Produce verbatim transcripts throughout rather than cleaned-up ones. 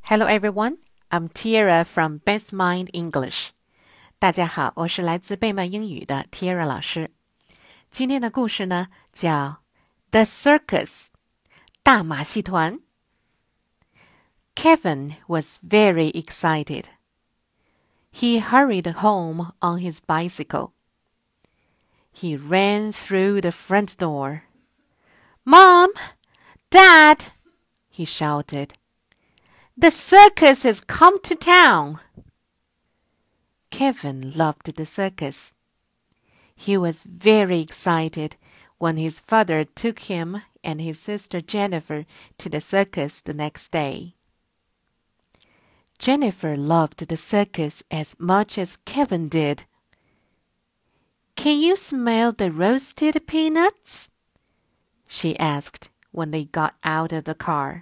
Hello everyone, I'm Tiara from Best Mind English. 大家好，我是来自贝曼英语的 Tiara 老师。今天的故事呢，叫 The Circus 大马戏团。Kevin was very excited. He hurried home on his bicycle. He ran through the front door. Mom! Dad! He shouted.The circus has come to town. Kevin loved the circus. He was very excited when his father took him and his sister Jennifer to the circus the next day. Jennifer loved the circus as much as Kevin did. Can you smell the roasted peanuts? She asked when they got out of the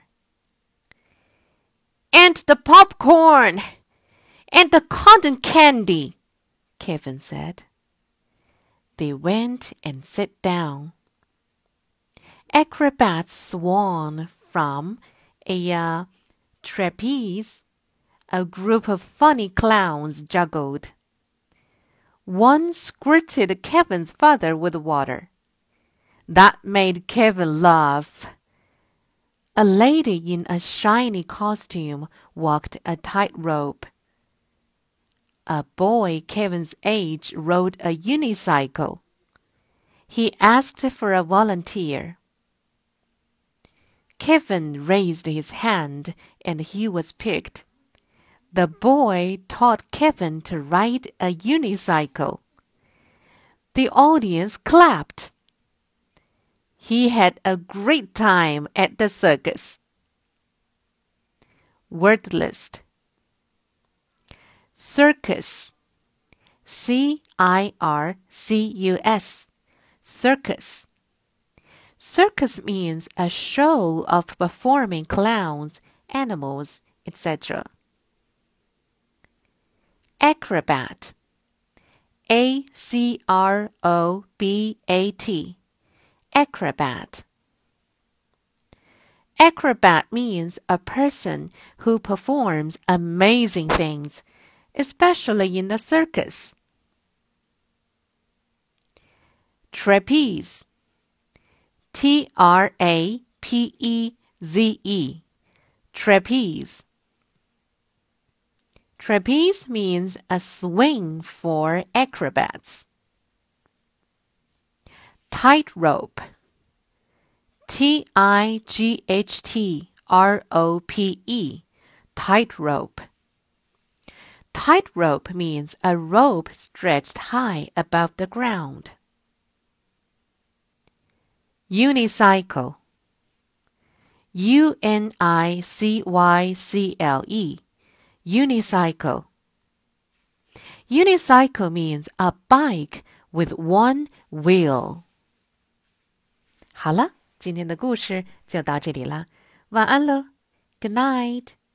car.And the popcorn! And the cotton candy! Kevin said. They went and sat down. Acrobats swung from a uh, trapeze. A group of funny clowns juggled. One squirted Kevin's father with water. That made Kevin laugh.A lady in a shiny costume walked a tightrope. A boy Kevin's age rode a unicycle. He asked for a volunteer. Kevin raised his hand and he was picked. The boy taught Kevin to ride a unicycle. The audience clapped.He had a great time at the circus. Word list. Circus. C I R C U S. Circus. Circus means a show of performing clowns, animals, et cetera. Acrobat. A C R O B A T.Acrobat. Acrobat means a person who performs amazing things, especially in the circus. Trapeze. T R A P E Z E. Trapeze. Trapeze means a swing for acrobats. Tightrope. T I G H T R O P E. Tightrope. Tightrope means a rope stretched high above the ground. Unicycle. U N I C Y C L E. Unicycle. Unicycle means a bike with one wheel.好了，今天的故事就到这里了，晚安喽 ，Good night。